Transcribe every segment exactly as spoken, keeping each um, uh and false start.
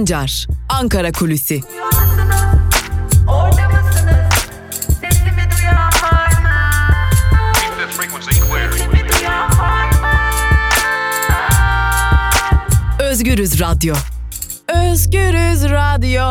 Sancar, Ankara Kulüsi. Özgürüz Radyo. Özgürüz Radyo.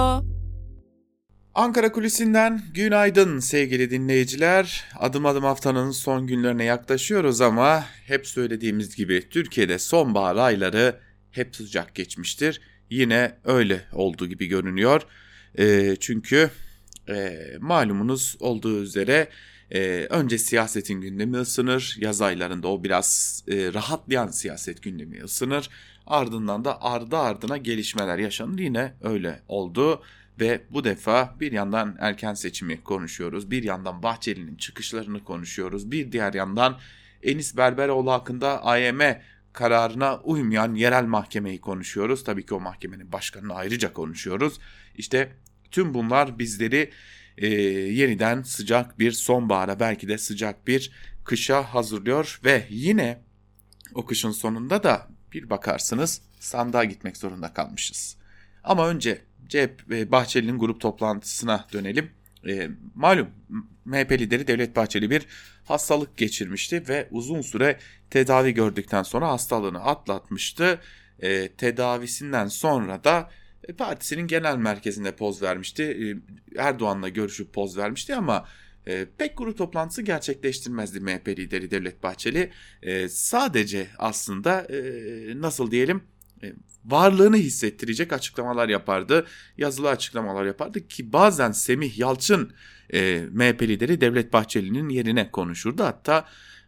Ankara Kulisi'nden günaydın sevgili dinleyiciler. Adım adım haftanın son günlerine yaklaşıyoruz ama hep söylediğimiz gibi Türkiye'de sonbahar ayları hep sıcak geçmiştir. Yine öyle olduğu gibi görünüyor. E, çünkü e, malumunuz olduğu üzere e, önce siyasetin gündemi ısınır. Yaz aylarında o biraz e, rahatlayan siyaset gündemi ısınır. Ardından da ardı ardına gelişmeler yaşanır. Yine öyle oldu. Ve bu defa bir yandan erken seçimi konuşuyoruz, bir yandan Bahçeli'nin çıkışlarını konuşuyoruz, bir diğer yandan Enis Berberoğlu hakkında A Y M kararına uymayan yerel mahkemeyi konuşuyoruz. Tabii ki o mahkemenin başkanını ayrıca konuşuyoruz. İşte tüm bunlar bizleri e, yeniden sıcak bir sonbahara, belki de sıcak bir kışa hazırlıyor ve yine o kışın sonunda da bir bakarsınız sandığa gitmek zorunda kalmışız. Ama önce C H P Bahçeli'nin grup toplantısına dönelim. E, malum M H P lideri Devlet Bahçeli bir hastalık geçirmişti ve uzun süre tedavi gördükten sonra hastalığını atlatmıştı. E, tedavisinden sonra da e, partisinin genel merkezinde poz vermişti. E, Erdoğan'la görüşüp poz vermişti ama e, pek grup toplantısı gerçekleştirmezdi M H P lideri Devlet Bahçeli. E, sadece aslında e, nasıl diyelim... E, varlığını hissettirecek açıklamalar yapardı, yazılı açıklamalar yapardı ki bazen Semih Yalçın e, M H P lideri Devlet Bahçeli'nin yerine konuşurdu. Hatta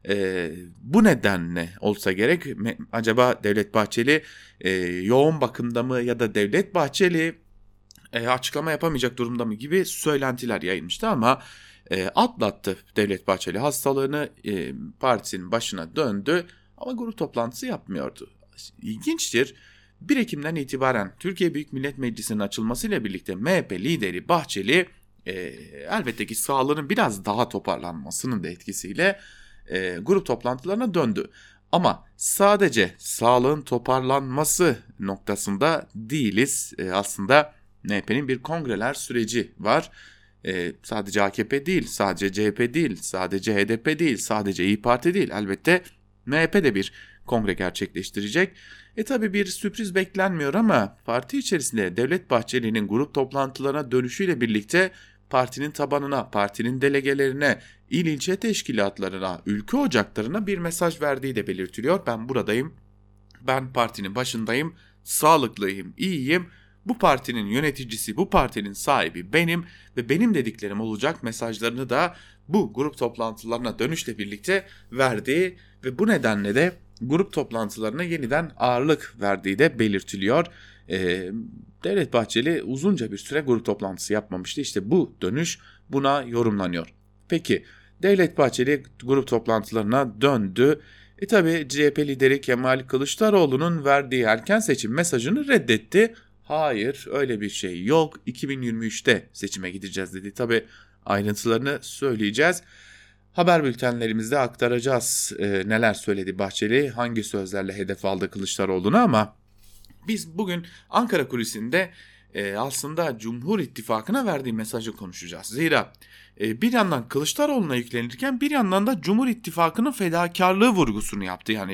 e, bu nedenle olsa gerek acaba Devlet Bahçeli e, yoğun bakımda mı ya da Devlet Bahçeli e, açıklama yapamayacak durumda mı gibi söylentiler yayılmıştı ama e, atlattı Devlet Bahçeli hastalığını, e, partisinin başına döndü ama grup toplantısı yapmıyordu. İlginçtir. bir Ekim'den itibaren Türkiye Büyük Millet Meclisi'nin açılmasıyla birlikte M H P lideri Bahçeli e, elbette ki sağlığının biraz daha toparlanmasının da etkisiyle e, grup toplantılarına döndü. Ama sadece sağlığın toparlanması noktasında değiliz. E, aslında M H P'nin bir kongreler süreci var. E, sadece A K P değil, sadece C H P değil, sadece H D P değil, sadece İYİ Parti değil. Elbette M H P de bir kongre gerçekleştirecek. E tabi bir sürpriz beklenmiyor ama parti içerisinde Devlet Bahçeli'nin grup toplantılarına dönüşüyle birlikte partinin tabanına, partinin delegelerine, il ilçe teşkilatlarına, ülke ocaklarına bir mesaj verdiği de belirtiliyor. Ben buradayım, ben partinin başındayım, sağlıklıyım, iyiyim. Bu partinin yöneticisi, bu partinin sahibi benim ve benim dediklerim olacak mesajlarını da bu grup toplantılarına dönüşle birlikte verdiği ve bu nedenle de grup toplantılarına yeniden ağırlık verdiği de belirtiliyor. Ee, Devlet Bahçeli uzunca bir süre grup toplantısı yapmamıştı. İşte bu dönüş buna yorumlanıyor. Peki Devlet Bahçeli grup toplantılarına döndü. E tabi C H P lideri Kemal Kılıçdaroğlu'nun verdiği erken seçim mesajını reddetti. Hayır, öyle bir şey yok. iki bin yirmi üçte seçime gideceğiz dedi. Tabi ayrıntılarını söyleyeceğiz. Haber bültenlerimizde aktaracağız e, neler söyledi Bahçeli, hangi sözlerle hedef aldı Kılıçdaroğlu'nu ama biz bugün Ankara Kulisi'nde e, aslında Cumhur İttifakı'na verdiği mesajı konuşacağız. Zira e, bir yandan Kılıçdaroğlu'na yüklenirken bir yandan da Cumhur İttifakı'nın fedakarlığı vurgusunu yaptı. Yani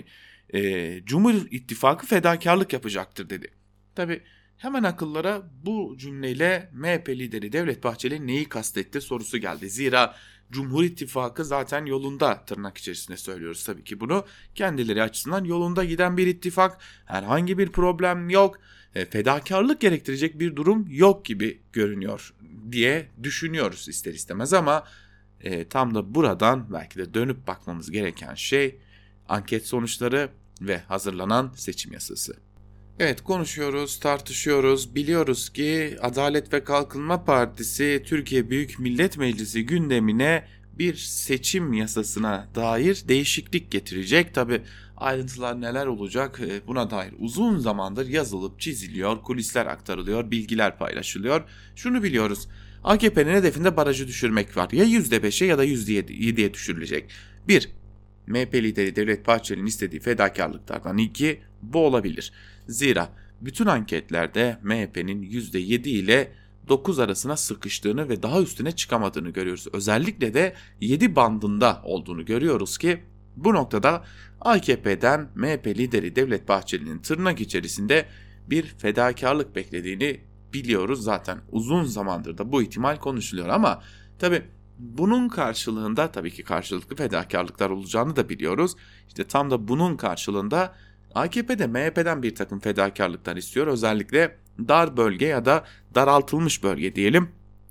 e, Cumhur İttifakı fedakarlık yapacaktır dedi. Tabii hemen akıllara bu cümleyle M H P lideri Devlet Bahçeli neyi kastetti sorusu geldi. Zira Cumhur İttifakı zaten yolunda, tırnak içerisinde söylüyoruz tabii ki bunu. Kendileri açısından yolunda giden bir ittifak, herhangi bir problem yok, e, fedakarlık gerektirecek bir durum yok gibi görünüyor diye düşünüyoruz ister istemez ama e, tam da buradan belki de dönüp bakmamız gereken şey anket sonuçları ve hazırlanan seçim yasası. Evet, konuşuyoruz, tartışıyoruz. Biliyoruz ki Adalet ve Kalkınma Partisi Türkiye Büyük Millet Meclisi gündemine bir seçim yasasına dair değişiklik getirecek. Tabii ayrıntılar neler olacak buna dair uzun zamandır yazılıp çiziliyor, kulisler aktarılıyor, bilgiler paylaşılıyor. Şunu biliyoruz, A K P'nin hedefinde barajı düşürmek var. Ya yüzde beşe ya da yüzde yediye düşürülecek. Bir, M H P lideri Devlet Bahçeli'nin istediği fedakarlıklardan iki bu olabilir. Zira bütün anketlerde M H P'nin yüzde yedi ile dokuz arasına sıkıştığını ve daha üstüne çıkamadığını görüyoruz. Özellikle de yedi bandında olduğunu görüyoruz ki bu noktada A K P'den M H P lideri Devlet Bahçeli'nin tırnak içerisinde bir fedakarlık beklediğini biliyoruz. Zaten uzun zamandır da bu ihtimal konuşuluyor ama tabii bunun karşılığında tabii ki karşılıklı fedakarlıklar olacağını da biliyoruz. İşte tam da bunun karşılığında A K P de M H P'den bir takım fedakarlıklar istiyor. Özellikle dar bölge ya da daraltılmış bölge diyelim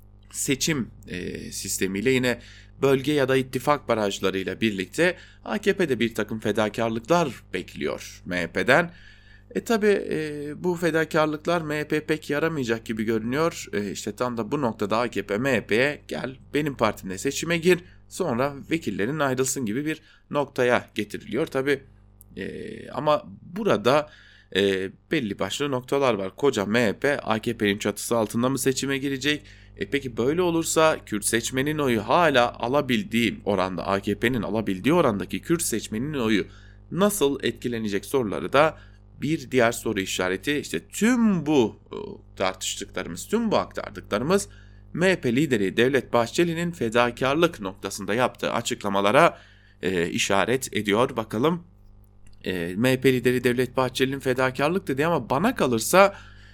seçim e, sistemiyle yine bölge ya da ittifak barajlarıyla birlikte A K P de bir takım fedakarlıklar bekliyor M H P'den. E tabi e, bu fedakarlıklar M H P pek yaramayacak gibi görünüyor. E, işte tam da bu noktada A K P M H P'ye gel benim partimle seçime gir sonra vekillerin ayrılsın gibi bir noktaya getiriliyor. Tabi e, ama burada e, belli başlı noktalar var. Koca M H P A K P'nin çatısı altında mı seçime girecek? E peki böyle olursa Kürt seçmenin oyu hala alabildiği oranda A K P'nin alabildiği orandaki Kürt seçmenin oyu nasıl etkilenecek soruları da bir diğer soru işareti. İşte tüm bu tartıştıklarımız, tüm bu aktardıklarımız M H P lideri Devlet Bahçeli'nin fedakarlık noktasında yaptığı açıklamalara e, işaret ediyor. Bakalım e, M H P lideri Devlet Bahçeli'nin fedakarlık dedi ama bana kalırsa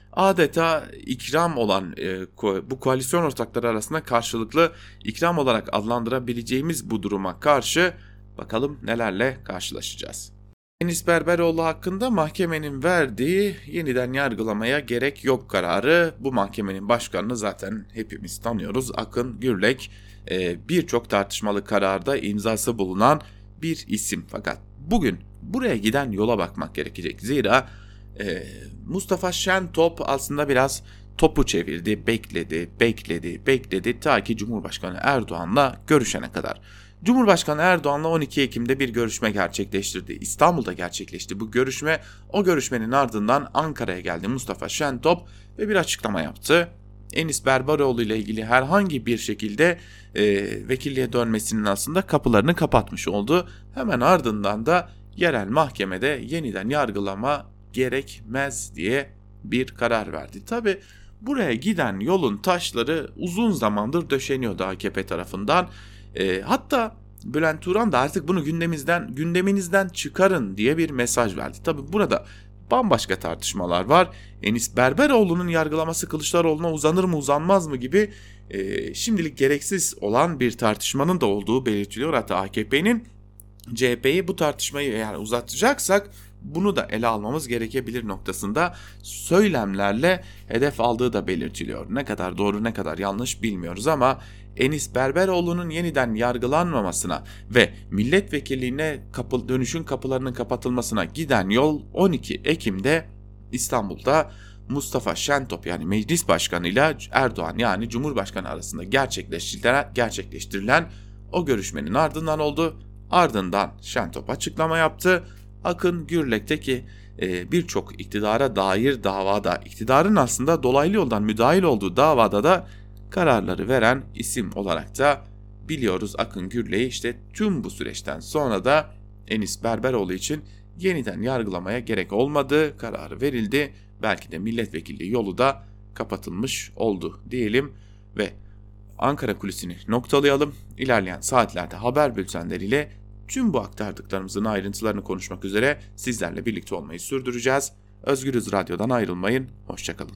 adeta ikram olan e, ko- bu koalisyon ortakları arasında karşılıklı ikram olarak adlandırabileceğimiz bu duruma karşı bakalım nelerle karşılaşacağız. Enis Berberoğlu hakkında mahkemenin verdiği yeniden yargılamaya gerek yok kararı. Bu mahkemenin başkanını zaten hepimiz tanıyoruz. Akın Gürlek e, birçok tartışmalı kararda imzası bulunan bir isim. Fakat bugün buraya giden yola bakmak gerekecek. Zira e, Mustafa Şentop aslında biraz topu çevirdi, bekledi, bekledi, bekledi ta ki Cumhurbaşkanı Erdoğan'la görüşene kadar. Cumhurbaşkanı Erdoğan'la on iki Ekim'de bir görüşme gerçekleştirdi. İstanbul'da gerçekleşti bu görüşme. O görüşmenin ardından Ankara'ya geldi Mustafa Şentop ve bir açıklama yaptı. Enis Berberoğlu ile ilgili herhangi bir şekilde e, vekilliğe dönmesinin aslında kapılarını kapatmış oldu. Hemen ardından da yerel mahkemede yeniden yargılama gerekmez diye bir karar verdi. Tabi buraya giden yolun taşları uzun zamandır döşeniyordu A K P tarafından. E, hatta Bülent Turan da artık bunu gündemimizden, gündeminizden çıkarın diye bir mesaj verdi. Tabi burada bambaşka tartışmalar var. Enis Berberoğlu'nun yargılaması Kılıçdaroğlu'na uzanır mı uzanmaz mı gibi e, şimdilik gereksiz olan bir tartışmanın da olduğu belirtiliyor. Hatta A K P'nin C H P'yi bu tartışmayı eğer uzatacaksak bunu da ele almamız gerekebilir noktasında söylemlerle hedef aldığı da belirtiliyor. Ne kadar doğru ne kadar yanlış bilmiyoruz ama Enis Berberoğlu'nun yeniden yargılanmamasına ve milletvekilliğine kapı, dönüşün kapılarının kapatılmasına giden yol on iki Ekim'de İstanbul'da Mustafa Şentop yani meclis başkanı ile Erdoğan yani Cumhurbaşkanı arasında gerçekleştirilen, gerçekleştirilen o görüşmenin ardından oldu. Ardından Şentop açıklama yaptı. Akın Gürlek'te ki e, birçok iktidara dair davada, iktidarın aslında dolaylı yoldan müdahil olduğu davada da kararları veren isim olarak da biliyoruz Akın Gürlek'i. İşte tüm bu süreçten sonra da Enis Berberoğlu için yeniden yargılamaya gerek olmadığı kararı verildi. Belki de milletvekilliği yolu da kapatılmış oldu diyelim ve Ankara kulisini noktalayalım. İlerleyen saatlerde haber bültenleriyle tüm bu aktardıklarımızın ayrıntılarını konuşmak üzere sizlerle birlikte olmayı sürdüreceğiz. Özgürüz Radyo'dan ayrılmayın. Hoşçakalın.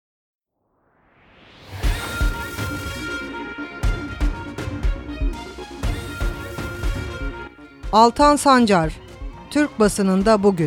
Altan Sancar, Türk basınında bugün.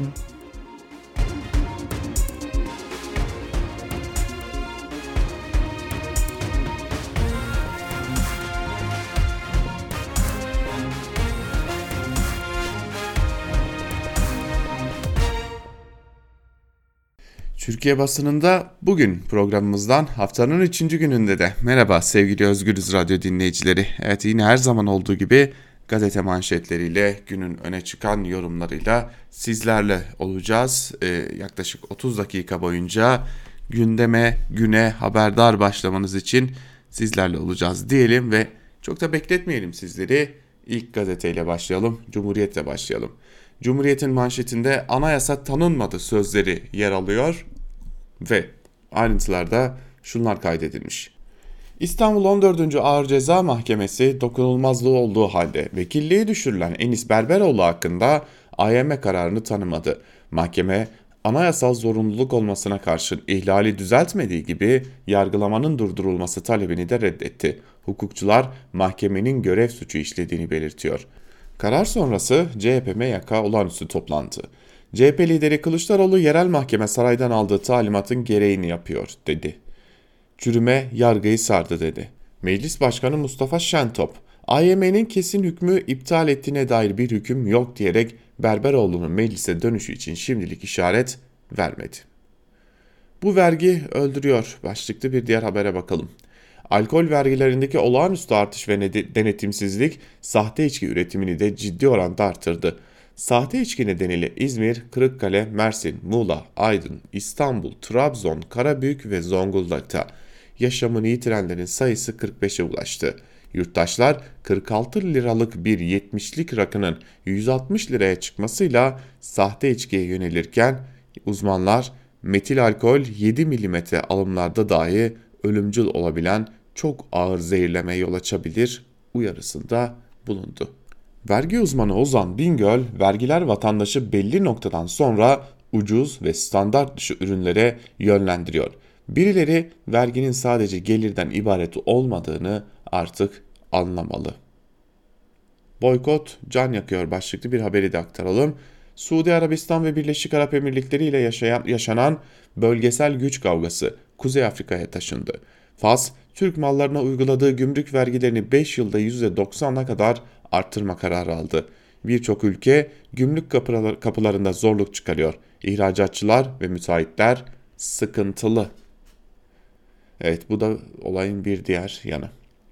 Türkiye basınında bugün programımızdan haftanın üçüncü gününde de merhaba sevgili Özgürüz Radyo dinleyicileri. Evet yine her zaman olduğu gibi gazete manşetleriyle günün öne çıkan yorumlarıyla sizlerle olacağız. Ee, yaklaşık otuz dakika boyunca gündeme güne haberdar başlamanız için sizlerle olacağız diyelim ve çok da bekletmeyelim sizleri. İlk gazeteyle başlayalım, Cumhuriyet'le başlayalım. Cumhuriyet'in manşetinde anayasa tanınmadı sözleri yer alıyor. Ve ayrıntılarda şunlar kaydedilmiş. İstanbul on dördüncü Ağır Ceza Mahkemesi dokunulmazlığı olduğu halde vekilliği düşürülen Enis Berberoğlu hakkında A Y M kararını tanımadı. Mahkeme anayasal zorunluluk olmasına karşın ihlali düzeltmediği gibi yargılamanın durdurulması talebini de reddetti. Hukukçular mahkemenin görev suçu işlediğini belirtiyor. Karar sonrası C H P M Y K olağanüstü toplantı. C H P lideri Kılıçdaroğlu yerel mahkeme saraydan aldığı talimatın gereğini yapıyor dedi. Çürüme yargıyı sardı dedi. Meclis Başkanı Mustafa Şentop, A Y M'nin kesin hükmü iptal ettiğine dair bir hüküm yok diyerek Berberoğlu'nun meclise dönüşü için şimdilik işaret vermedi. Bu vergi öldürüyor başlıklı bir diğer habere bakalım. Alkol vergilerindeki olağanüstü artış ve denetimsizlik sahte içki üretimini de ciddi oranda arttırdı. Sahte içki nedeniyle İzmir, Kırıkkale, Mersin, Muğla, Aydın, İstanbul, Trabzon, Karabük ve Zonguldak'ta yaşamını yitirenlerin sayısı kırk beşe ulaştı. Yurttaşlar kırk altı liralık bir yetmişlik rakının yüz altmış liraya çıkmasıyla sahte içkiye yönelirken uzmanlar metil alkol yedi milimetre alımlarda dahi ölümcül olabilen çok ağır zehirlemeye yol açabilir uyarısında bulundu. Vergi uzmanı Ozan Bingöl, vergiler vatandaşı belli noktadan sonra ucuz ve standart dışı ürünlere yönlendiriyor. Birileri verginin sadece gelirden ibaret olmadığını artık anlamalı. Boykot can yakıyor başlıklı bir haberi de aktaralım. Suudi Arabistan ve Birleşik Arap Emirlikleri ile yaşayan, yaşanan bölgesel güç kavgası Kuzey Afrika'ya taşındı. Fas, Türk mallarına uyguladığı gümrük vergilerini beş yılda yüzde doksana kadar arttırma kararı aldı. Birçok ülke gümrük kapılarında zorluk çıkarıyor. İhracatçılar ve müteahhitler sıkıntılı. Evet, bu da olayın bir diğer yanı.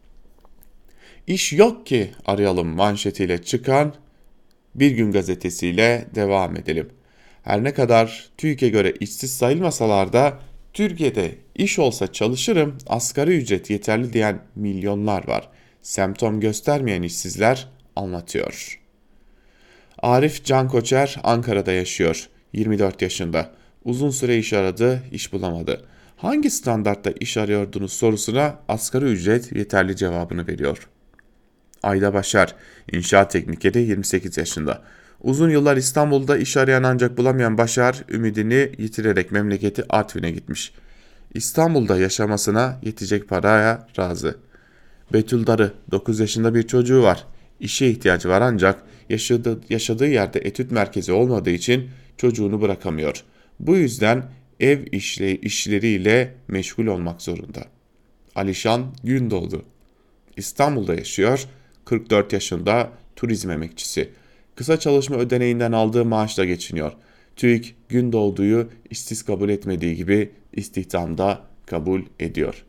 İş yok ki arayalım manşetiyle çıkan Bir Gün gazetesiyle devam edelim. Her ne kadar TÜİK'e göre işsiz sayılmasalar da Türkiye'de iş olsa çalışırım, asgari ücret yeterli diyen milyonlar var. Semptom göstermeyen işsizler anlatıyor. Arif Can Koçer Ankara'da yaşıyor. yirmi dört yaşında. Uzun süre iş aradı, iş bulamadı. Hangi standartta iş arıyordunuz sorusuna asgari ücret yeterli cevabını veriyor. Ayda Başar, inşaat teknikeri, yirmi sekiz yaşında. Uzun yıllar İstanbul'da iş arayan ancak bulamayan Başar, ümidini yitirerek memleketi Artvin'e gitmiş. İstanbul'da yaşamasına yetecek paraya razı. Betül Darı, dokuz yaşında bir çocuğu var. İşe ihtiyacı var ancak yaşadığı, yaşadığı yerde etüt merkezi olmadığı için çocuğunu bırakamıyor. Bu yüzden ev işle, işleriyle meşgul olmak zorunda. Alişan Gündoğdu, İstanbul'da yaşıyor, kırk dört yaşında, turizm emekçisi. Kısa çalışma ödeneğinden aldığı maaşla geçiniyor. TÜİK Gündoğdu'yu işsiz kabul etmediği gibi istihdamda kabul ediyor.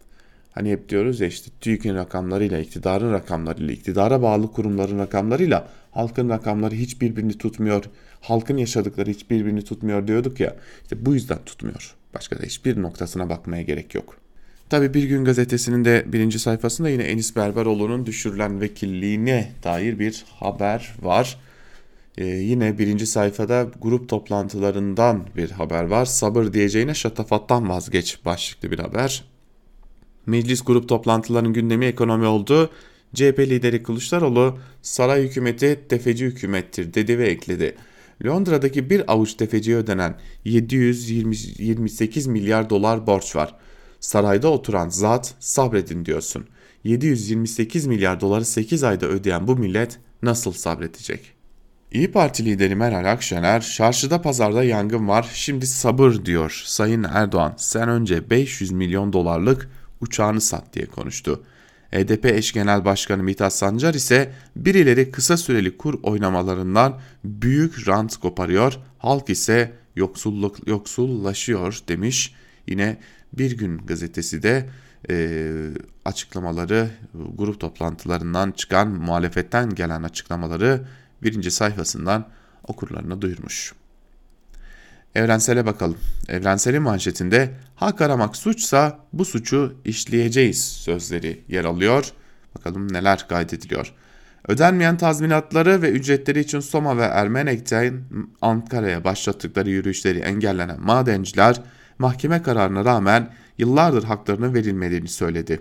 Hani hep diyoruz ya işte TÜİK'in rakamlarıyla, iktidarın rakamlarıyla, iktidara bağlı kurumların rakamlarıyla halkın rakamları hiç birbirini tutmuyor. Halkın yaşadıkları hiç birbirini tutmuyor diyorduk ya. İşte bu yüzden tutmuyor. Başka da hiçbir noktasına bakmaya gerek yok. Tabii Bir Gün gazetesinin de birinci sayfasında yine Enis Berberoğlu'nun düşürülen vekilliğine dair bir haber var. Ee, yine birinci sayfada grup toplantılarından bir haber var. Sabır diyeceğine şatafattan vazgeç başlıklı bir haber. Meclis grup toplantılarının gündemi ekonomi oldu. C H P lideri Kılıçdaroğlu saray hükümeti tefeci hükümettir dedi ve ekledi. Londra'daki bir avuç tefeciye ödenen yedi yüz yirmi sekiz milyar dolar borç var. Sarayda oturan zat sabredin diyorsun. yedi yüz yirmi sekiz milyar doları sekiz ayda ödeyen bu millet nasıl sabredecek? İYİ Parti lideri Meral Akşener, çarşıda pazarda yangın var, şimdi sabır diyor. Sayın Erdoğan, sen önce beş yüz milyon dolarlık uçağını sat diye konuştu. H D P eş genel başkanı Mithat Sancar ise birileri kısa süreli kur oynamalarından büyük rant koparıyor, halk ise yoksulluk yoksullaşıyor demiş. Yine Bir Gün gazetesi de e, açıklamaları, grup toplantılarından çıkan muhalefetten gelen açıklamaları birinci sayfasından okurlarına duyurmuş. Evrensele bakalım. Evrensel'in manşetinde hak aramak suçsa bu suçu işleyeceğiz sözleri yer alıyor. Bakalım neler kaydediliyor. Ödenmeyen tazminatları ve ücretleri için Soma ve Ermenek'ten Ankara'ya başlattıkları yürüyüşleri engellenen madenciler mahkeme kararına rağmen yıllardır haklarının verilmediğini söyledi.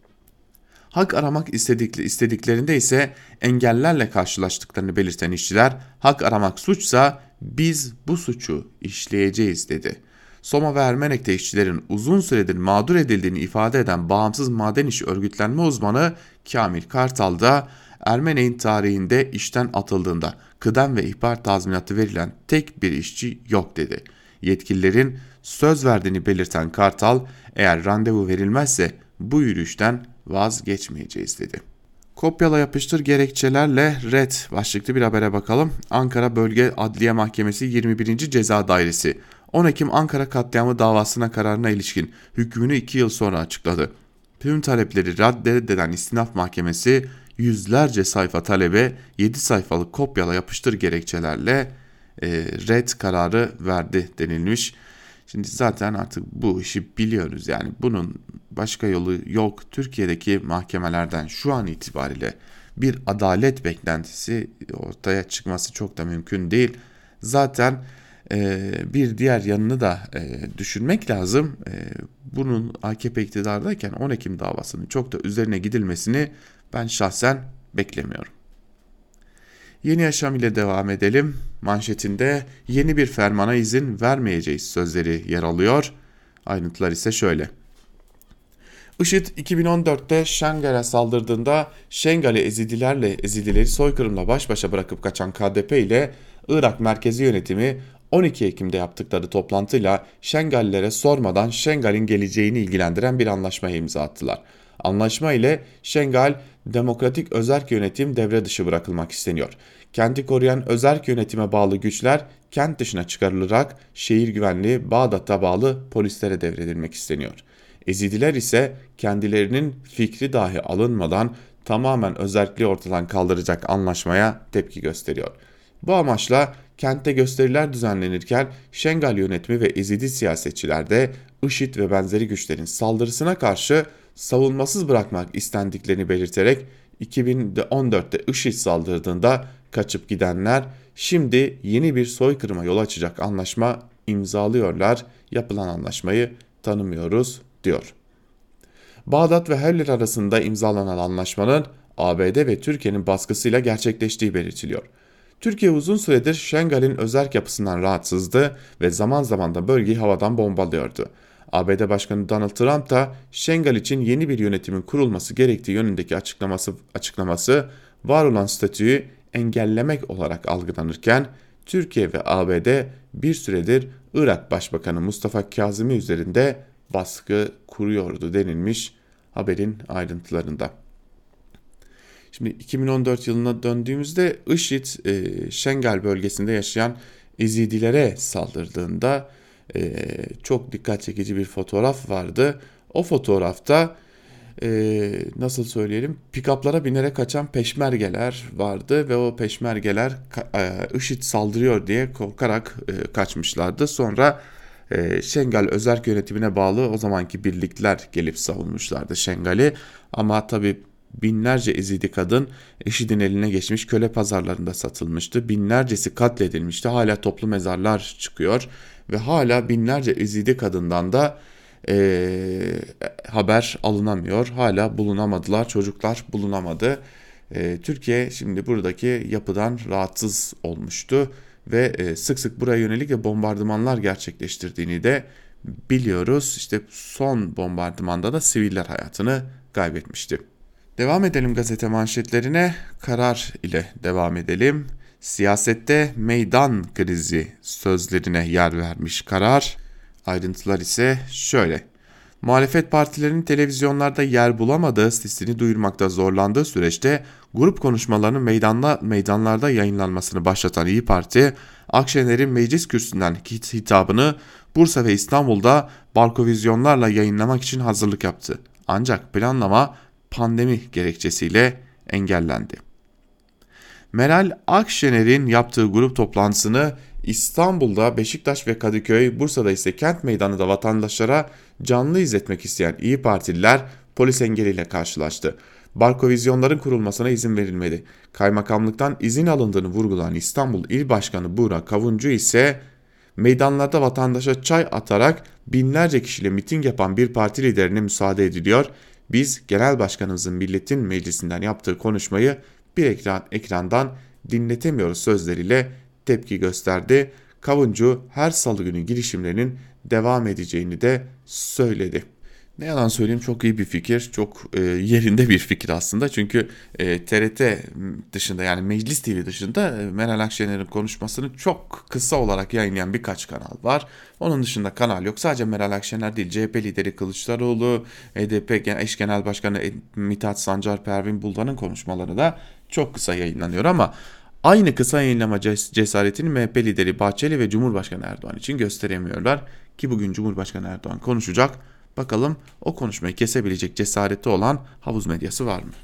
Hak aramak istedikleri, istediklerinde ise engellerle karşılaştıklarını belirten işçiler, hak aramak suçsa biz bu suçu işleyeceğiz dedi. Soma ve Ermenek'te işçilerin uzun süredir mağdur edildiğini ifade eden bağımsız maden işi örgütlenme uzmanı Kamil Kartal da Ermenek'in tarihinde işten atıldığında kıdem ve ihbar tazminatı verilen tek bir işçi yok dedi. Yetkililerin söz verdiğini belirten Kartal, eğer randevu verilmezse bu yürüyüşten vazgeçmeyeceğiz dedi. Kopyala yapıştır gerekçelerle red başlıklı bir habere bakalım. Ankara Bölge Adliye Mahkemesi yirmi birinci Ceza Dairesi on Ekim Ankara katliamı davasına kararına ilişkin hükmünü iki yıl sonra açıkladı. Tüm talepleri reddeden İstinaf Mahkemesi yüzlerce sayfa talebe yedi sayfalık kopyala yapıştır gerekçelerle e, red kararı verdi denilmiş. Şimdi zaten artık bu işi biliyoruz, yani bunun başka yolu yok. Türkiye'deki mahkemelerden şu an itibariyle bir adalet beklentisi ortaya çıkması çok da mümkün değil. Zaten e, bir diğer yanını da e, düşünmek lazım. E, bunun A K P iktidardayken on Ekim davasının çok da üzerine gidilmesini ben şahsen beklemiyorum. Yeni Yaşam ile devam edelim. Manşetinde yeni bir fermana izin vermeyeceğiz sözleri yer alıyor. Ayrıntılar ise şöyle. IŞİD iki bin on dörtte Şengal'e saldırdığında Şengal'i Ezidilerle Ezidileri soykırımla baş başa bırakıp kaçan K D P ile Irak Merkezi Yönetimi on iki Ekim'de yaptıkları toplantıyla Şengal'lere sormadan Şengal'in geleceğini ilgilendiren bir anlaşmaya imza attılar. Anlaşma ile Şengal Demokratik Özerk Yönetim devre dışı bırakılmak isteniyor. Kenti koruyan özerk yönetime bağlı güçler kent dışına çıkarılarak şehir güvenliği Bağdat'a bağlı polislere devredilmek isteniyor. Ezidiler ise kendilerinin fikri dahi alınmadan tamamen özerkliği ortadan kaldıracak anlaşmaya tepki gösteriyor. Bu amaçla kentte gösteriler düzenlenirken Şengal yönetimi ve Ezidi siyasetçiler de IŞİD ve benzeri güçlerin saldırısına karşı savunmasız bırakmak istendiklerini belirterek iki bin on dörtte IŞİD saldırdığında kaçıp gidenler şimdi yeni bir soykırıma yol açacak anlaşma imzalıyorlar. Yapılan anlaşmayı tanımıyoruz diyor. Bağdat ve Herler arasında imzalanan anlaşmanın A B D ve Türkiye'nin baskısıyla gerçekleştiği belirtiliyor. Türkiye uzun süredir Şengal'in özerk yapısından rahatsızdı ve zaman zaman da bölgeyi havadan bombalıyordu. A B D Başkanı Donald Trump da Şengal için yeni bir yönetimin kurulması gerektiği yönündeki açıklaması, açıklaması var olan statüyü engellemek olarak algılanırken Türkiye ve A B D bir süredir Irak Başbakanı Mustafa Kazimi üzerinde baskı kuruyordu denilmiş haberin ayrıntılarında. Şimdi iki bin on dört yılına döndüğümüzde IŞİD e, Şengal bölgesinde yaşayan Ezidilere saldırdığında e, çok dikkat çekici bir fotoğraf vardı. O fotoğrafta e, nasıl söyleyelim, pikaplara binerek kaçan peşmergeler vardı ve o peşmergeler e, IŞİD saldırıyor diye korkarak e, kaçmışlardı. Sonra e, Şengal özerk yönetimine bağlı o zamanki birlikler gelip savunmuşlardı Şengal'i, ama tabii binlerce Ezidi kadın IŞİD'in eline geçmiş, köle pazarlarında satılmıştı. Binlercesi katledilmişti. Hala toplu mezarlar çıkıyor ve hala binlerce Ezidi kadından da e, haber alınamıyor. Hala bulunamadılar. Çocuklar bulunamadı. E, Türkiye şimdi buradaki yapıdan rahatsız olmuştu ve e, sık sık buraya yönelik de bombardımanlar gerçekleştirdiğini de biliyoruz. İşte son bombardımanda da siviller hayatını kaybetmişti. Devam edelim gazete manşetlerine. Karar ile devam edelim. Siyasette meydan krizi sözlerine yer vermiş Karar. Ayrıntılar ise şöyle. Muhalefet partilerinin televizyonlarda yer bulamadığı, sesini duyurmakta zorlandığı süreçte grup konuşmalarının meydanla, meydanlarda yayınlanmasını başlatan İYİ Parti, Akşener'in meclis kürsüsünden hitabını Bursa ve İstanbul'da barkovizyonlarla yayınlamak için hazırlık yaptı. Ancak planlama pandemi gerekçesiyle engellendi. Meral Akşener'in yaptığı grup toplantısını İstanbul'da Beşiktaş ve Kadıköy, Bursa'da ise Kent Meydanı'nda vatandaşlara canlı izletmek isteyen İYİ Partililer polis engeliyle karşılaştı. Barkovizyonların kurulmasına izin verilmedi. Kaymakamlıktan izin alındığını vurgulayan İstanbul İl Başkanı Buğra Kavuncu ise Meydanlarda vatandaşa çay atarak binlerce kişiyle miting yapan bir parti liderine müsaade ediliyor. Biz genel başkanımızın milletin meclisinden yaptığı konuşmayı bir ekran, ekrandan dinletemiyoruz sözleriyle tepki gösterdi. Kavuncu her salı günü girişimlerinin devam edeceğini de söyledi. Ne yalan söyleyeyim, çok iyi bir fikir, çok e, yerinde bir fikir aslında. Çünkü e, T R T dışında, yani Meclis T V dışında e, Meral Akşener'in konuşmasını çok kısa olarak yayınlayan birkaç kanal var. Onun dışında kanal yok. Sadece Meral Akşener değil, C H P lideri Kılıçdaroğlu, H D P eş genel başkanı Mithat Sancar, Pervin Buldan'ın konuşmaları da çok kısa yayınlanıyor ama aynı kısa yayınlama cesaretini M H P lideri Bahçeli ve Cumhurbaşkanı Erdoğan için gösteremiyorlar ki bugün Cumhurbaşkanı Erdoğan konuşacak. Bakalım o konuşmayı kesebilecek cesareti olan havuz medyası var mı?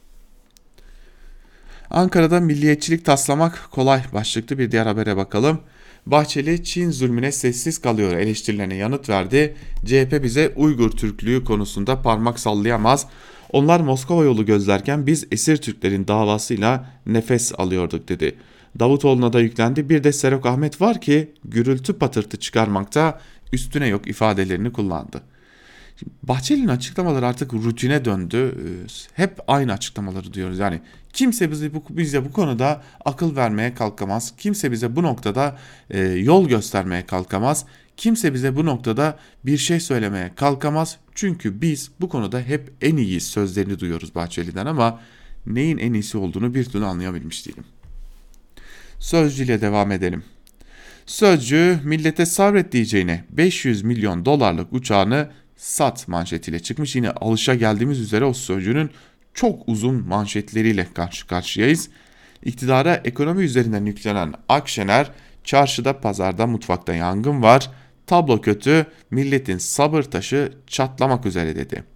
Ankara'da milliyetçilik taslamak kolay başlıklı bir diğer habere bakalım. Bahçeli Çin zulmüne sessiz kalıyor eleştirilerine yanıt verdi. C H P bize Uygur Türklüğü konusunda parmak sallayamaz. Onlar Moskova yolu gözlerken biz esir Türklerin davasıyla nefes alıyorduk dedi. Davutoğlu'na da yüklendi. Bir de Serok Ahmet var ki gürültü patırtı çıkarmakta üstüne yok ifadelerini kullandı. Bahçeli'nin açıklamaları artık rutine döndü. Hep aynı açıklamaları diyoruz. Yani kimse bize bu, bize bu konuda akıl vermeye kalkamaz. Kimse bize bu noktada e, yol göstermeye kalkamaz. Kimse bize bu noktada bir şey söylemeye kalkamaz. Çünkü biz bu konuda hep en iyi sözlerini duyuyoruz Bahçeli'den ama neyin en iyisi olduğunu bir türlü anlayabilmiş değilim. Sözcü ile devam edelim. Sözcü millete sabret diyeceğine beş yüz milyon dolarlık uçağını sat manşetiyle çıkmış. Yine alışa geldiğimiz üzere o Sözcü'nün çok uzun manşetleriyle karşı karşıyayız. İktidara ekonomi üzerinden yüklenen Akşener, çarşıda pazarda mutfakta yangın var, tablo kötü, milletin sabır taşı çatlamak üzere dedi.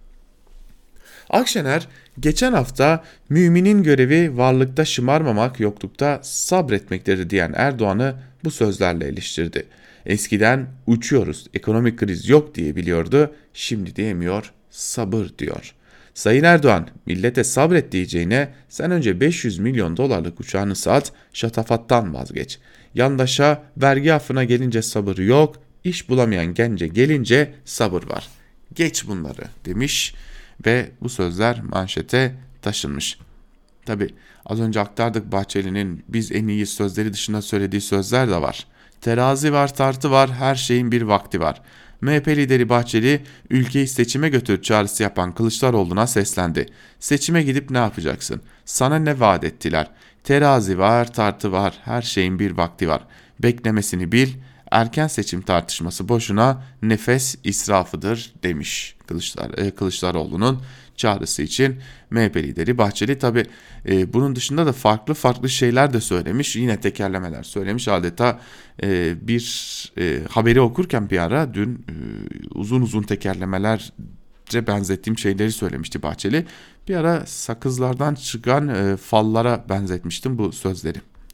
Akşener geçen hafta müminin görevi varlıkta şımarmamak, yoklukta sabretmektir diyen Erdoğan'ı bu sözlerle eleştirdi. Eskiden uçuyoruz, ekonomik kriz yok diye biliyordu, şimdi diyemiyor, sabır diyor. Sayın Erdoğan, millete sabret diyeceğine sen önce beş yüz milyon dolarlık uçağını sat, şatafattan vazgeç. Yandaşa, vergi affına gelince sabır yok, iş bulamayan gence gelince sabır var. Geç bunları demiş ve bu sözler manşete taşınmış. Tabi az önce aktardık, Bahçeli'nin biz en iyi sözleri dışında söylediği sözler de var. Terazi var, tartı var, her şeyin bir vakti var. M H P lideri Bahçeli ülkeyi seçime götür çağrısı yapan Kılıçdaroğlu'na seslendi. Seçime gidip ne yapacaksın? Sana ne vaat ettiler? Terazi var, tartı var, her şeyin bir vakti var. Beklemesini bil, erken seçim tartışması boşuna, nefes israfıdır demiş Kılıçdar, Kılıçdaroğlu'nun çağrısı için M H P lideri Bahçeli. Tabi e, bunun dışında da farklı farklı şeyler de söylemiş, yine tekerlemeler söylemiş. Adeta e, bir e, haberi okurken bir ara dün e, uzun uzun tekerlemelerce benzettiğim şeyleri söylemişti Bahçeli. Bir ara sakızlardan çıkan e, fallara benzetmiştim bu sözleri.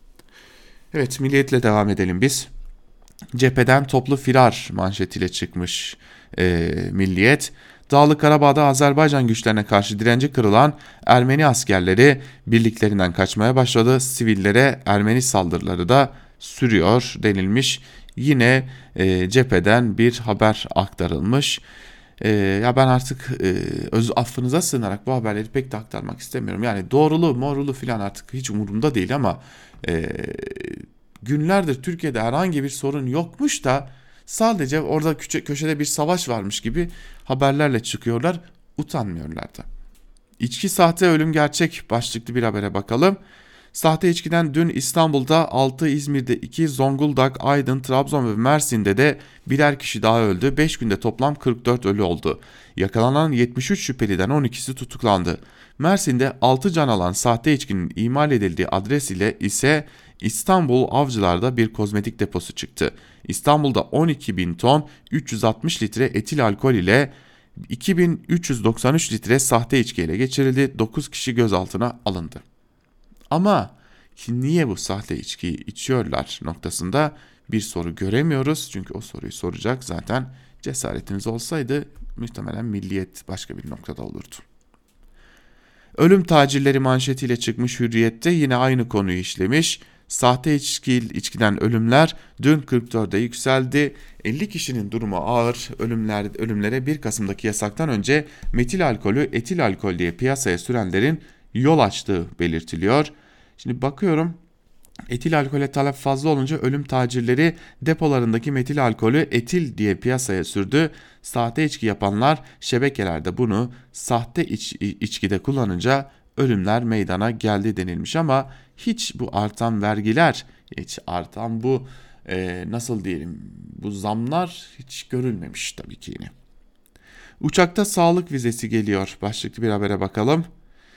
Evet, Milliyet'le devam edelim biz. Cepheden toplu firar manşetiyle çıkmış e, Milliyet. Dağlık Karabağ'da Azerbaycan güçlerine karşı direnci kırılan Ermeni askerleri birliklerinden kaçmaya başladı. Sivillere Ermeni saldırıları da sürüyor denilmiş. Yine e, cepheden bir haber aktarılmış. E, ya ben artık e, öz affınıza sığınarak bu haberleri pek de aktarmak istemiyorum. Yani doğrulu morulu falan artık hiç umurumda değil ama e, günlerdir Türkiye'de herhangi bir sorun yokmuş da sadece orada küçe, köşede bir savaş varmış gibi haberlerle çıkıyorlar, utanmıyorlar da. İçki sahte, ölüm gerçek başlıklı bir habere bakalım. Sahte içkiden dün İstanbul'da altı, İzmir'de iki, Zonguldak, Aydın, Trabzon ve Mersin'de de birer kişi daha öldü. beş günde toplam kırk dört ölü oldu. Yakalanan yetmiş üç şüpheliden on ikisi tutuklandı. Mersin'de altı can alan sahte içkinin imal edildiği adres ile ise İstanbul Avcılar'da bir kozmetik deposu çıktı. İstanbul'da on iki bin ton üç yüz altmış litre etil alkol ile iki bin üç yüz doksan üç litre sahte içki ele geçirildi. dokuz kişi gözaltına alındı. Ama niye bu sahte içkiyi içiyorlar noktasında bir soru göremiyoruz. Çünkü o soruyu soracak zaten cesaretiniz olsaydı muhtemelen Milliyet başka bir noktada olurdu. Ölüm tacirleri manşetiyle çıkmış Hürriyet'te yine aynı konuyu işlemiş. Sahte içki, içkiden ölümler dün kırk dörde yükseldi. elli kişinin durumu ağır. Ölümler, ölümlere bir Kasım'daki yasaktan önce metil alkolü etil alkol diye piyasaya sürenlerin yol açtığı belirtiliyor. Şimdi bakıyorum, etil alkole talep fazla olunca ölüm tacirleri depolarındaki metil alkolü etil diye piyasaya sürdü. Sahte içki yapanlar şebekelerde bunu sahte iç, içkide kullanınca ölümler meydana geldi denilmiş ama hiç bu artan vergiler, hiç artan bu e, nasıl diyelim bu zamlar hiç görülmemiş tabii ki yine. Uçakta sağlık vizesi geliyor. Başlıklı bir habere bakalım.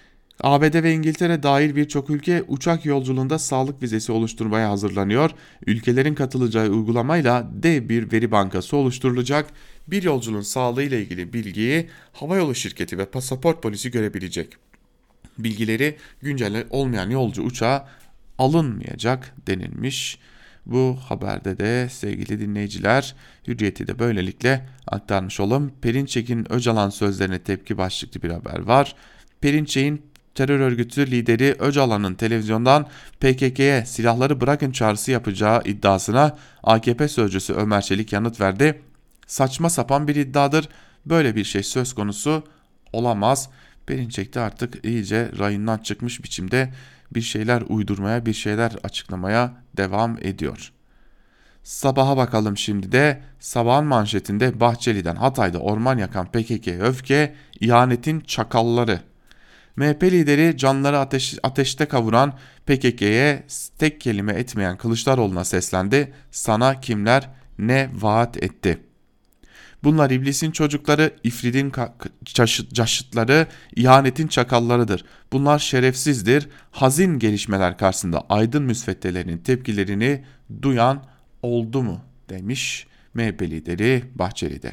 A B D ve İngiltere dahil birçok ülke uçak yolculuğunda sağlık vizesi oluşturmaya hazırlanıyor. Ülkelerin katılacağı uygulamayla dev bir veri bankası oluşturulacak. Bir yolcunun sağlığı ile ilgili bilgiyi havayolu şirketi ve pasaport polisi görebilecek. Bilgileri güncel olmayan yolcu uçağa alınmayacak denilmiş. Bu haberde de sevgili dinleyiciler Hürriyet'i de böylelikle aktarmış olalım. Perinçek'in Öcalan sözlerine tepki başlıklı bir haber var. Perinçek'in terör örgütü lideri Öcalan'ın televizyondan P K K'ye silahları bırakın çağrısı yapacağı iddiasına A K P sözcüsü Ömer Çelik yanıt verdi. Saçma sapan bir iddiadır. Böyle bir şey söz konusu olamaz. Perinçek de artık iyice rayından çıkmış biçimde bir şeyler uydurmaya, bir şeyler açıklamaya devam ediyor. Sabaha bakalım şimdi de. Sabahın manşetinde Bahçeli'den Hatay'da orman yakan P K K'ye öfke, ihanetin çakalları. M H P lideri canları ateş, ateşte kavuran P K K'ye tek kelime etmeyen Kılıçdaroğlu'na seslendi. Sana kimler ne vaat etti? Bunlar iblisin çocukları, ifridin caşıtları, ihanetin çakallarıdır. Bunlar şerefsizdir. Hazin gelişmeler karşısında aydın müsveddelerinin tepkilerini duyan oldu mu demiş M H P lideri Bahçeli'de.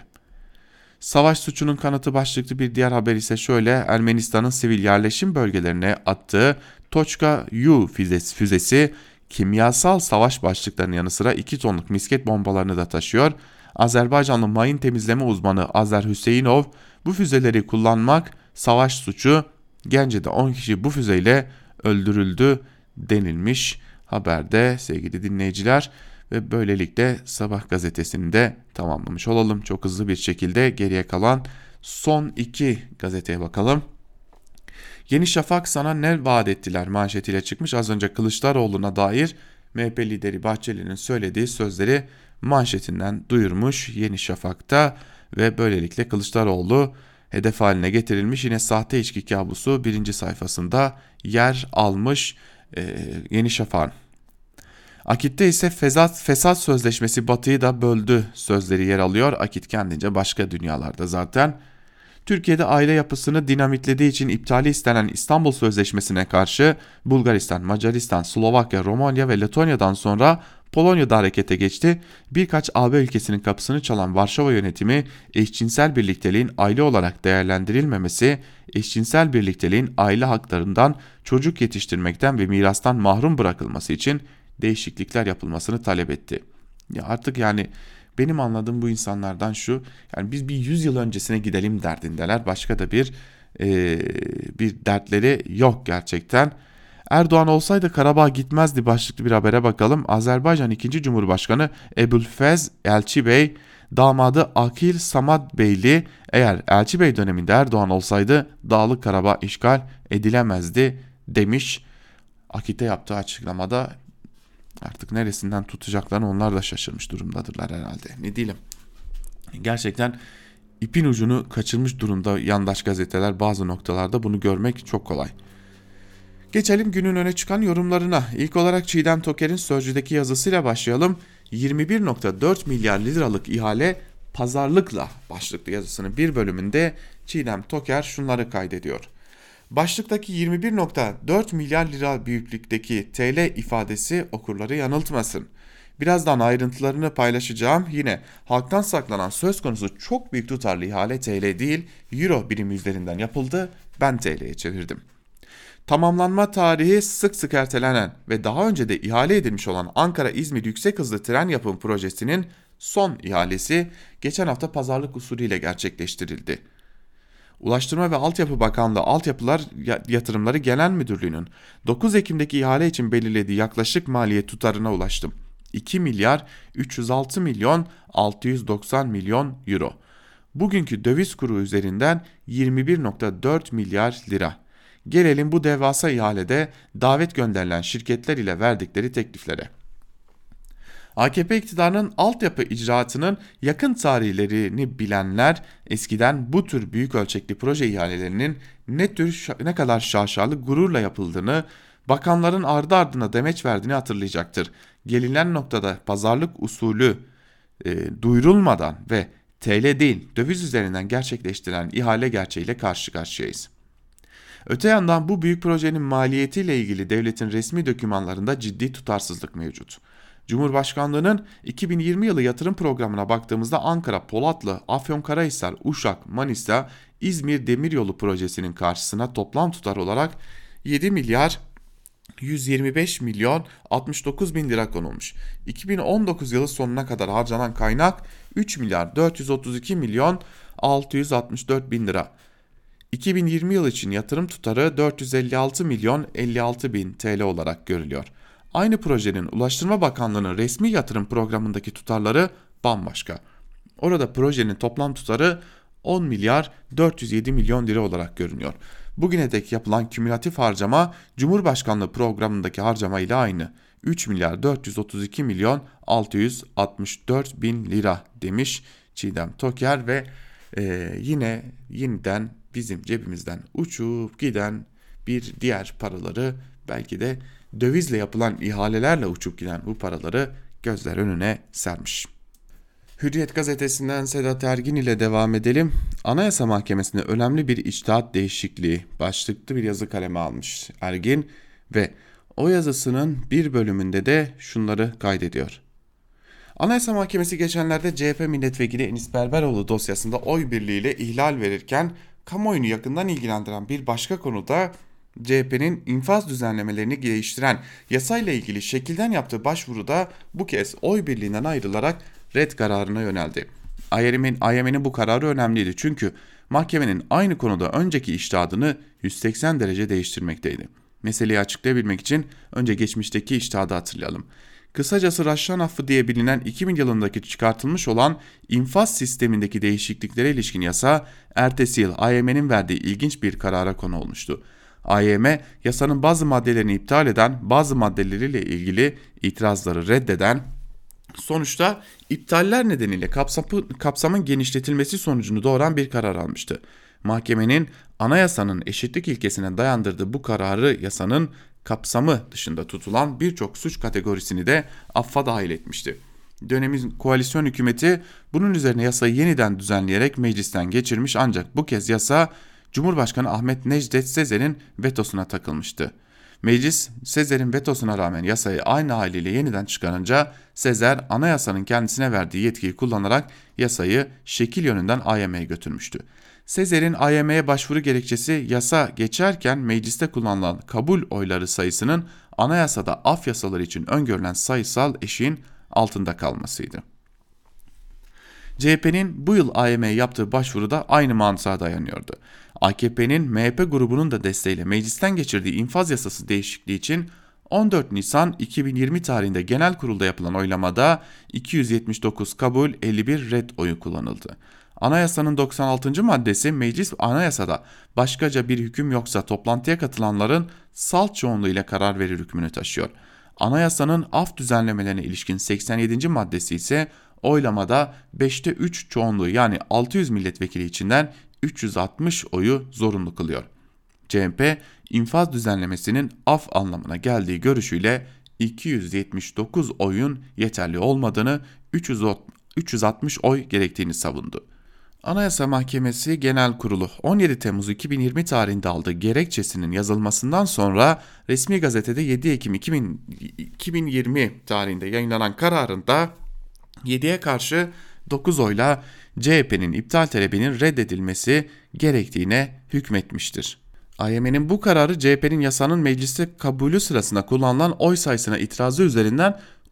Savaş suçunun kanıtı başlıklı bir diğer haber ise şöyle: Ermenistan'ın sivil yerleşim bölgelerine attığı Tochka-U füzesi, füzesi kimyasal savaş başlıklarının yanı sıra iki tonluk misket bombalarını da taşıyor. Azerbaycanlı mayın temizleme uzmanı Azer Hüseyinov bu füzeleri kullanmak savaş suçu, Gence'de on kişi bu füzeyle öldürüldü denilmiş haberde sevgili dinleyiciler. Ve böylelikle Sabah gazetesini de tamamlamış olalım. Çok hızlı bir şekilde geriye kalan son iki gazeteye bakalım. Yeni Şafak sana ne vaat ettiler manşetiyle çıkmış. Az önce Kılıçdaroğlu'na dair M H P lideri Bahçeli'nin söylediği sözleri manşetinden duyurmuş Yeni Şafak'ta ve böylelikle Kılıçdaroğlu hedef haline getirilmiş. Yine sahte içki kabusu birinci sayfasında yer almış ee, Yeni Şafak'ın. Akit'te ise fesat, fesat sözleşmesi Batı'yı da böldü sözleri yer alıyor. Akit kendince başka dünyalarda zaten. Türkiye'de aile yapısını dinamitlediği için iptali istenen İstanbul Sözleşmesi'ne karşı Bulgaristan, Macaristan, Slovakya, Romanya ve Letonya'dan sonra Polonya'da harekete geçti. Birkaç A B ülkesinin kapısını çalan Varşova yönetimi eşcinsel birlikteliğin aile olarak değerlendirilmemesi, eşcinsel birlikteliğin aile haklarından, çocuk yetiştirmekten ve mirastan mahrum bırakılması için değişiklikler yapılmasını talep etti. Ya artık yani benim anladığım bu insanlardan şu, yani biz bir yüz yıl öncesine gidelim derdindeler. Başka da bir e, bir dertleri yok gerçekten. Erdoğan olsaydı Karabağ gitmezdi başlıklı bir habere bakalım. Azerbaycan ikinci. Cumhurbaşkanı Ebulfez Elçibey, damadı Akil Samad Beyli, eğer Elçibey döneminde Erdoğan olsaydı Dağlık Karabağ işgal edilemezdi demiş. Akit'e yaptığı açıklamada artık neresinden tutacaklarını onlar da şaşırmış durumdadırlar herhalde. Ne diyelim. Gerçekten ipin ucunu kaçırmış durumda yandaş gazeteler, bazı noktalarda bunu görmek çok kolay. Geçelim günün öne çıkan yorumlarına. İlk olarak Çiğdem Toker'in Sözcü'deki yazısıyla başlayalım. yirmi bir virgül dört milyar liralık ihale pazarlıkla başlıklı yazısının bir bölümünde Çiğdem Toker şunları kaydediyor. Başlıktaki yirmi bir virgül dört milyar lira büyüklükteki T L ifadesi okurları yanıltmasın. Birazdan ayrıntılarını paylaşacağım. Yine halktan saklanan söz konusu çok büyük tutarlı ihale T L değil, Euro birimi üzerinden yapıldı. Ben T L'ye çevirdim. Tamamlanma tarihi sık sık ertelenen ve daha önce de ihale edilmiş olan Ankara-İzmir yüksek hızlı tren yapım projesinin son ihalesi geçen hafta pazarlık usulüyle gerçekleştirildi. Ulaştırma ve Altyapı Bakanlığı Altyapılar Yatırımları Genel Müdürlüğü'nün dokuz Ekim'deki ihale için belirlediği yaklaşık maliyet tutarına ulaştım. iki milyar üç yüz altı milyon altı yüz doksan milyon euro. Bugünkü döviz kuru üzerinden yirmi bir virgül dört milyar lira. Gelelim bu devasa ihalede davet gönderilen şirketler ile verdikleri tekliflere. A K P iktidarının altyapı icraatının yakın tarihlerini bilenler eskiden bu tür büyük ölçekli proje ihalelerinin ne tür ne kadar şaşalı gururla yapıldığını, bakanların ardı ardına demeç verdiğini hatırlayacaktır. Gelinen noktada pazarlık usulü e, duyurulmadan ve T L değil döviz üzerinden gerçekleştirilen ihale gerçeğiyle karşı karşıyayız. Öte yandan bu büyük projenin maliyetiyle ilgili devletin resmi dokümanlarında ciddi tutarsızlık mevcut. Cumhurbaşkanlığının iki bin yirmi yılı yatırım programına baktığımızda Ankara, Polatlı, Afyonkarahisar, Uşak, Manisa, İzmir Demiryolu projesinin karşısına toplam tutar olarak yedi milyar yüz yirmi beş milyon altmış dokuz bin lira konulmuş. iki bin on dokuz yılı sonuna kadar harcanan kaynak üç milyar dört yüz otuz iki milyon altı yüz altmış dört bin lira. iki bin yirmi yıl için yatırım tutarı dört yüz elli altı milyon elli altı bin T L olarak görülüyor. Aynı projenin Ulaştırma Bakanlığı'nın resmi yatırım programındaki tutarları bambaşka. Orada projenin toplam tutarı on milyar dört yüz yedi milyon lira olarak görünüyor. Bugüne dek yapılan kümülatif harcama Cumhurbaşkanlığı programındaki harcama ile aynı. üç milyar dört yüz otuz iki milyon altı yüz altmış dört bin lira demiş Çiğdem Toker ve e, yine yeniden bizim cebimizden uçup giden bir diğer paraları, belki de dövizle yapılan ihalelerle uçup giden bu paraları gözler önüne sermiş. Hürriyet gazetesinden Sedat Ergin ile devam edelim. Anayasa Mahkemesi'nde önemli bir içtihat değişikliği başlıklı bir yazı kaleme almış Ergin ve o yazısının bir bölümünde de şunları kaydediyor. Anayasa Mahkemesi geçenlerde C H P milletvekili Enis Berberoğlu dosyasında oy birliğiyle ihlal verirken kamuoyunu yakından ilgilendiren bir başka konuda C H P'nin infaz düzenlemelerini değiştiren yasayla ilgili şekilden yaptığı başvuruda bu kez oy birliğinden ayrılarak red kararına yöneldi. I M M'nin bu kararı önemliydi çünkü mahkemenin aynı konuda önceki içtihadını yüz seksen derece değiştirmekteydi. Meseleyi açıklayabilmek için önce geçmişteki içtihadı hatırlayalım. Kısacası Raşşan affı diye bilinen iki bin yılındaki çıkartılmış olan infaz sistemindeki değişikliklere ilişkin yasa ertesi yıl I M M'nin verdiği ilginç bir karara konu olmuştu. I M M yasanın bazı maddelerini iptal eden, bazı maddeleriyle ilgili itirazları reddeden, sonuçta iptaller nedeniyle kapsamı, kapsamın genişletilmesi sonucunu doğuran bir karar almıştı. Mahkemenin anayasanın eşitlik ilkesine dayandırdığı bu kararı yasanın kapsamı dışında tutulan birçok suç kategorisini de affa dahil etmişti. Dönemin koalisyon hükümeti bunun üzerine yasayı yeniden düzenleyerek meclisten geçirmiş, ancak bu kez yasa Cumhurbaşkanı Ahmet Necdet Sezer'in vetosuna takılmıştı. Meclis Sezer'in vetosuna rağmen yasayı aynı haliyle yeniden çıkarınca Sezer anayasanın kendisine verdiği yetkiyi kullanarak yasayı şekil yönünden I M M'ye götürmüştü. Sezer'in I M M'ye başvuru gerekçesi yasa geçerken mecliste kullanılan kabul oyları sayısının anayasada af yasaları için öngörülen sayısal eşiğin altında kalmasıydı. C H P'nin bu yıl I M M'ye yaptığı başvuru da aynı mantığa dayanıyordu. A K P'nin M H P grubunun da desteğiyle meclisten geçirdiği infaz yasası değişikliği için on dört Nisan iki bin yirmi tarihinde genel kurulda yapılan oylamada iki yüz yetmiş dokuz kabul elli bir red oyu kullanıldı. Anayasanın doksan altıncı maddesi meclis anayasada başkaca bir hüküm yoksa toplantıya katılanların salt çoğunluğu ile karar verir hükmünü taşıyor. Anayasanın af düzenlemelerine ilişkin seksen yedinci maddesi ise oylamada beşte üç çoğunluğu, yani altı yüz milletvekili içinden üç yüz altmış oyu zorunlu kılıyor. C H P infaz düzenlemesinin af anlamına geldiği görüşüyle iki yüz yetmiş dokuz oyun yeterli olmadığını, üç yüz altmış oy gerektiğini savundu. Anayasa Mahkemesi Genel Kurulu on yedi Temmuz iki bin yirmi tarihinde aldığı gerekçesinin yazılmasından sonra resmi gazetede yedi Ekim iki bin yirmi tarihinde yayınlanan kararında yediye karşı dokuz oyla C H P'nin iptal talebinin reddedilmesi gerektiğine hükmetmiştir. I M M'nin bu kararı C H P'nin yasanın mecliste kabulü sırasında kullanılan oy sayısına itirazı üzerinden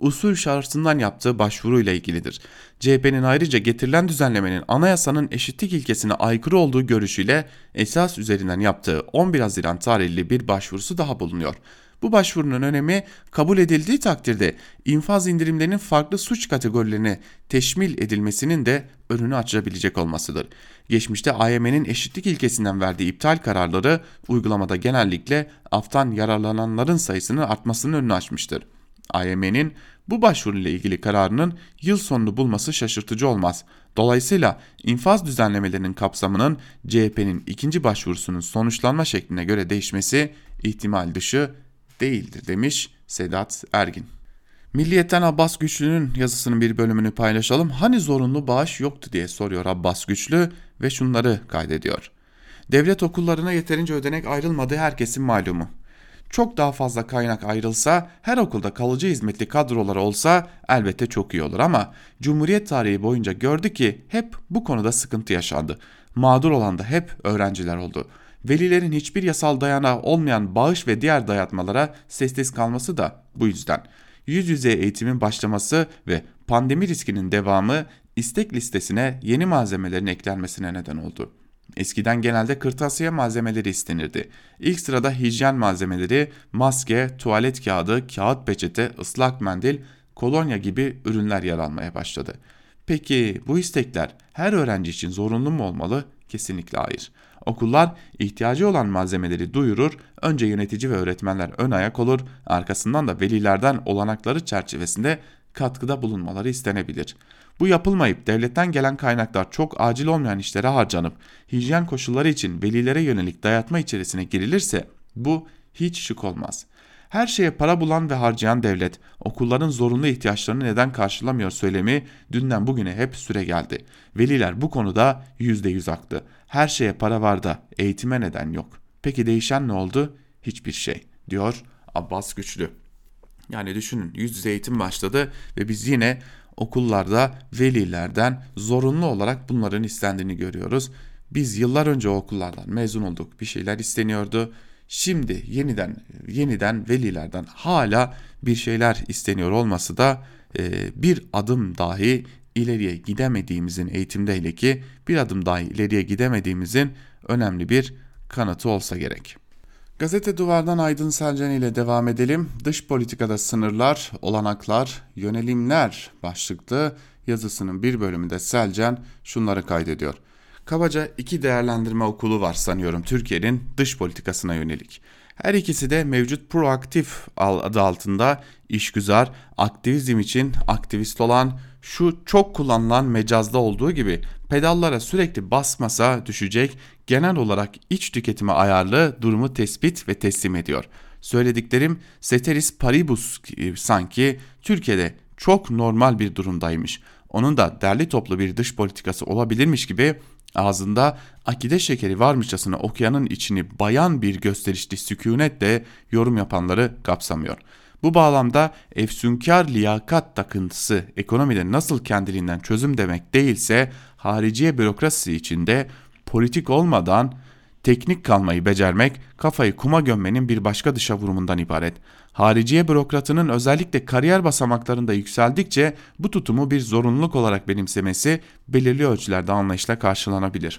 usul şartından yaptığı başvuruyla ilgilidir. C H P'nin ayrıca getirilen düzenlemenin anayasanın eşitlik ilkesine aykırı olduğu görüşüyle esas üzerinden yaptığı on bir Haziran tarihli bir başvurusu daha bulunuyor. Bu başvurunun önemi kabul edildiği takdirde infaz indirimlerinin farklı suç kategorilerine teşmil edilmesinin de önünü açabilecek olmasıdır. Geçmişte A Y M'nin eşitlik ilkesinden verdiği iptal kararları uygulamada genellikle aftan yararlananların sayısının artmasının önünü açmıştır. A Y M'nin bu başvuruyla ilgili kararının yıl sonunu bulması şaşırtıcı olmaz. Dolayısıyla infaz düzenlemelerinin kapsamının C H P'nin ikinci başvurusunun sonuçlanma şekline göre değişmesi ihtimal dışı değildir demiş Sedat Ergin. Milliyet'ten Abbas Güçlü'nün yazısının bir bölümünü paylaşalım. Hani zorunlu bağış yoktu diye soruyor Abbas Güçlü ve şunları kaydediyor. Devlet okullarına yeterince ödenek ayrılmadığı herkesin malumu. Çok daha fazla kaynak ayrılsa, her okulda kalıcı hizmetli kadroları olsa elbette çok iyi olur ama Cumhuriyet tarihi boyunca gördü ki hep bu konuda sıkıntı yaşandı. Mağdur olan da hep öğrenciler oldu. Velilerin hiçbir yasal dayanağı olmayan bağış ve diğer dayatmalara sessiz kalması da bu yüzden. Yüz yüze eğitimin başlaması ve pandemi riskinin devamı istek listesine yeni malzemelerin eklenmesine neden oldu. Eskiden genelde kırtasiye malzemeleri istenirdi. İlk sırada hijyen malzemeleri, maske, tuvalet kağıdı, kağıt peçete, ıslak mendil, kolonya gibi ürünler yer almaya başladı. Peki bu istekler her öğrenci için zorunlu mu olmalı? Kesinlikle hayır. Okullar ihtiyacı olan malzemeleri duyurur, önce yönetici ve öğretmenler ön ayak olur, arkasından da velilerden olanakları çerçevesinde katkıda bulunmaları istenebilir. Bu yapılmayıp devletten gelen kaynaklar çok acil olmayan işlere harcanıp hijyen koşulları için velilere yönelik dayatma içerisine girilirse bu hiç şık olmaz. Her şeye para bulan ve harcayan devlet okulların zorunlu ihtiyaçlarını neden karşılamıyor söylemi dünden bugüne hep süre geldi. Veliler bu konuda yüzde yüz haklı. Her şeye para var da eğitime neden yok. Peki değişen ne oldu? Hiçbir şey diyor Abbas Güçlü. Yani düşünün, yüz yüze eğitim başladı ve biz yine okullarda velilerden zorunlu olarak bunların istendiğini görüyoruz. Biz yıllar önce o okullardan mezun olduk, bir şeyler isteniyordu. Şimdi yeniden yeniden velilerden hala bir şeyler isteniyor olması da e, bir adım dahi ileriye gidemediğimizin, eğitimde hele ki bir adım dahi ileriye gidemediğimizin önemli bir kanıtı olsa gerek. Gazete Duvar'dan Aydın Selcan ile devam edelim. Dış politikada sınırlar, olanaklar, yönelimler başlıklı yazısının bir bölümünde Selcan şunları kaydediyor. Kabaca iki değerlendirme okulu var sanıyorum Türkiye'nin dış politikasına yönelik. Her ikisi de mevcut proaktif adı altında işgüzar, aktivizm için aktivist olan, şu çok kullanılan mecazda olduğu gibi pedallara sürekli basmasa düşecek, genel olarak iç tüketime ayarlı durumu tespit ve teslim ediyor. Söylediklerim ceteris paribus sanki Türkiye'de çok normal bir durumdaymış. Onun da derli toplu bir dış politikası olabilirmiş gibi ağzında akide şekeri varmışçasına okuyanın içini bayan bir gösterişli sükunetle yorum yapanları kapsamıyor. Bu bağlamda efsunkar liyakat takıntısı ekonomide nasıl kendiliğinden çözüm demek değilse hariciye bürokrasisi içinde politik olmadan teknik kalmayı becermek kafayı kuma gömmenin bir başka dışa vurumundan ibaret. Hariciye bürokratının özellikle kariyer basamaklarında yükseldikçe bu tutumu bir zorunluluk olarak benimsemesi belirli ölçülerde anlayışla karşılanabilir.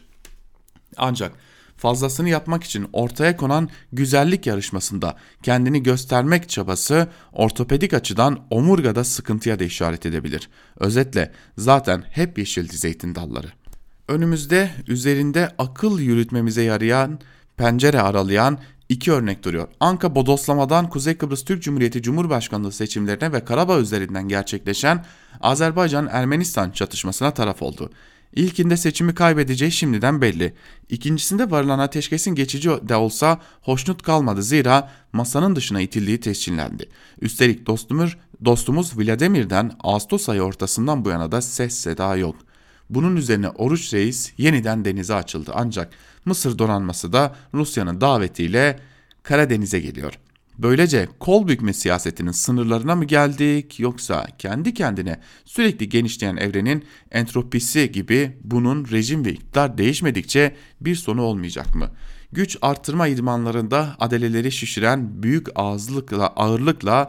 Ancak fazlasını yapmak için ortaya konan güzellik yarışmasında kendini göstermek çabası ortopedik açıdan omurgada sıkıntıya da işaret edebilir. Özetle zaten hep yeşildi zeytin dalları. Önümüzde üzerinde akıl yürütmemize yarayan, pencere aralayan iki örnek duruyor. Anka bodoslamadan Kuzey Kıbrıs Türk Cumhuriyeti Cumhurbaşkanlığı seçimlerine ve Karabağ üzerinden gerçekleşen Azerbaycan-Ermenistan çatışmasına taraf oldu. İlkinde seçimi kaybedeceği şimdiden belli. İkincisinde varılan ateşkesin geçici de olsa hoşnut kalmadı, zira masanın dışına itildiği tescillendi. Üstelik dostumuz, dostumuz Vladimir'den Ağustos ayı ortasından bu yana da ses seda yok. Bunun üzerine Oruç Reis yeniden denize açıldı, ancak Mısır donanması da Rusya'nın davetiyle Karadeniz'e geliyor. Böylece kol bükme siyasetinin sınırlarına mı geldik, yoksa kendi kendine sürekli genişleyen evrenin entropisi gibi bunun rejim ve iktidar değişmedikçe bir sonu olmayacak mı? Güç artırma idmanlarında adeleleri şişiren büyük ağızlıkla, ağırlıkla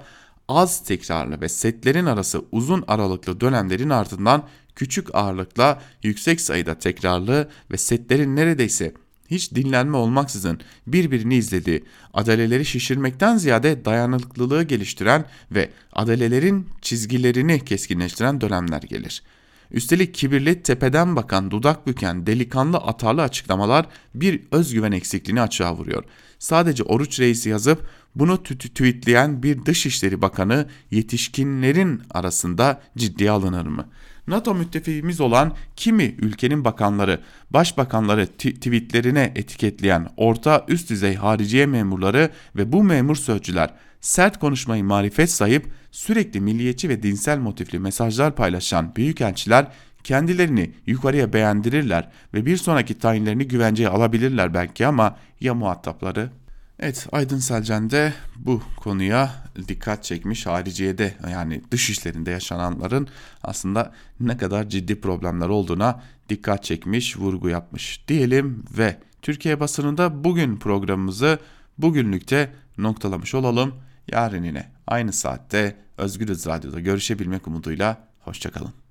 az tekrarlı ve setlerin arası uzun aralıklı dönemlerin ardından küçük ağırlıkla yüksek sayıda tekrarlı ve setlerin neredeyse hiç dinlenme olmaksızın birbirini izlediği, adaleleri şişirmekten ziyade dayanıklılığı geliştiren ve adalelerin çizgilerini keskinleştiren dönemler gelir. Üstelik kibirli, tepeden bakan, dudak büken, delikanlı, atarlı açıklamalar bir özgüven eksikliğini açığa vuruyor. Sadece Oruç Reis'i yazıp bunu tweetleyen bir Dışişleri Bakanı yetişkinlerin arasında ciddiye alınır mı? NATO müttefiğimiz olan kimi ülkenin bakanları, başbakanları tweetlerine etiketleyen orta üst düzey hariciye memurları ve bu memur sözcüler sert konuşmayı marifet sayıp sürekli milliyetçi ve dinsel motifli mesajlar paylaşan büyükelçiler kendilerini yukarıya beğendirirler ve bir sonraki tayinlerini güvenceye alabilirler belki ama ya muhatapları? Evet, Aydın Selcan de bu konuya dikkat çekmiş. Hariciyede, yani dış işlerinde yaşananların aslında ne kadar ciddi problemler olduğuna dikkat çekmiş, vurgu yapmış diyelim ve Türkiye basınında bugün programımızı bugünlükte noktalamış olalım. Yarın yine aynı saatte Özgürüz Radyo'da görüşebilmek umuduyla hoşçakalın.